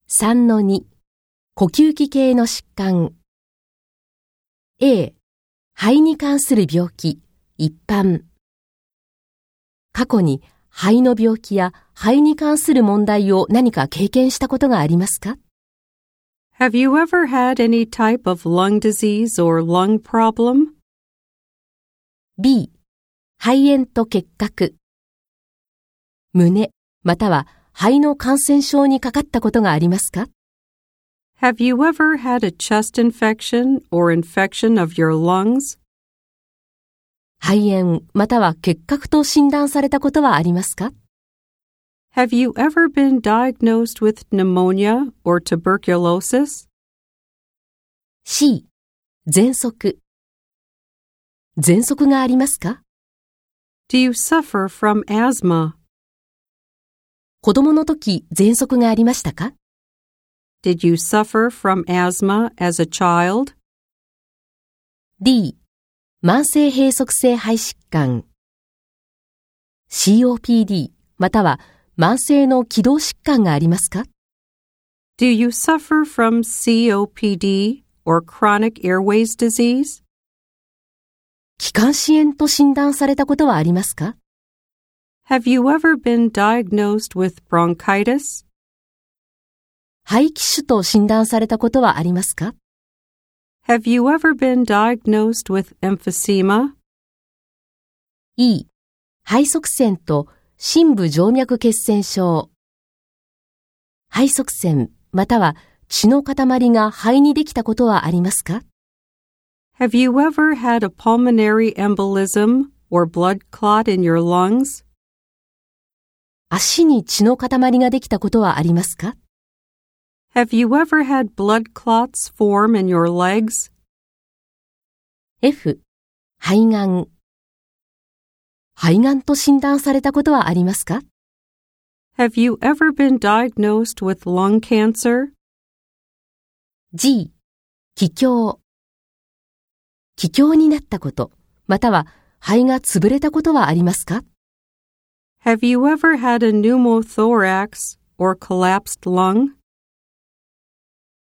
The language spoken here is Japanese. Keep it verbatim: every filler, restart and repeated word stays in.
さんのに 呼吸器系の疾患 A 肺に関する病気一般過去に肺の病気や肺に関する問題を何か経験したことがありますか？ Have you ever had any type of lung disease or lung problem? B 肺炎と結核胸または肺の感染症にかかったことがありますか？ Have you ever had a chest infection or infection of your lungs? 肺炎または結核と診断されたことはありますか？ Have you ever been diagnosed with pneumonia or tuberculosis? C 喘息喘息がありますか？ Do you suffer from asthma? 子供の時喘息がありましたか？ Did you suffer from asthma as a child? D 慢性閉塞性肺疾患 シーオーピーディー または慢性の気道疾患がありますか？ Do you suffer from シーオーピーディー or chronic airways disease? 気管支炎と診断されたことはありますか？ Have you ever been diagnosed with bronchitis? 肺気腫と診断されたことはありますか？ Have you ever been diagnosed with emphysema? E 肺塞栓と深部静脈血栓症肺塞栓または血の塊が肺にできたことはありますか？ Have you ever had a pulmonary embolism or blood clot in your lungs? 足に血の塊ができたことはありますか？ Have you ever had blood clots form in your legs? F 肺がん肺がんと診断されたことはありますか？ Have you ever been diagnosed with lung cancer? G 気胸気胸になったことまたは肺が潰れたことはありますか？ Have you ever had a pneumothorax or collapsed lung?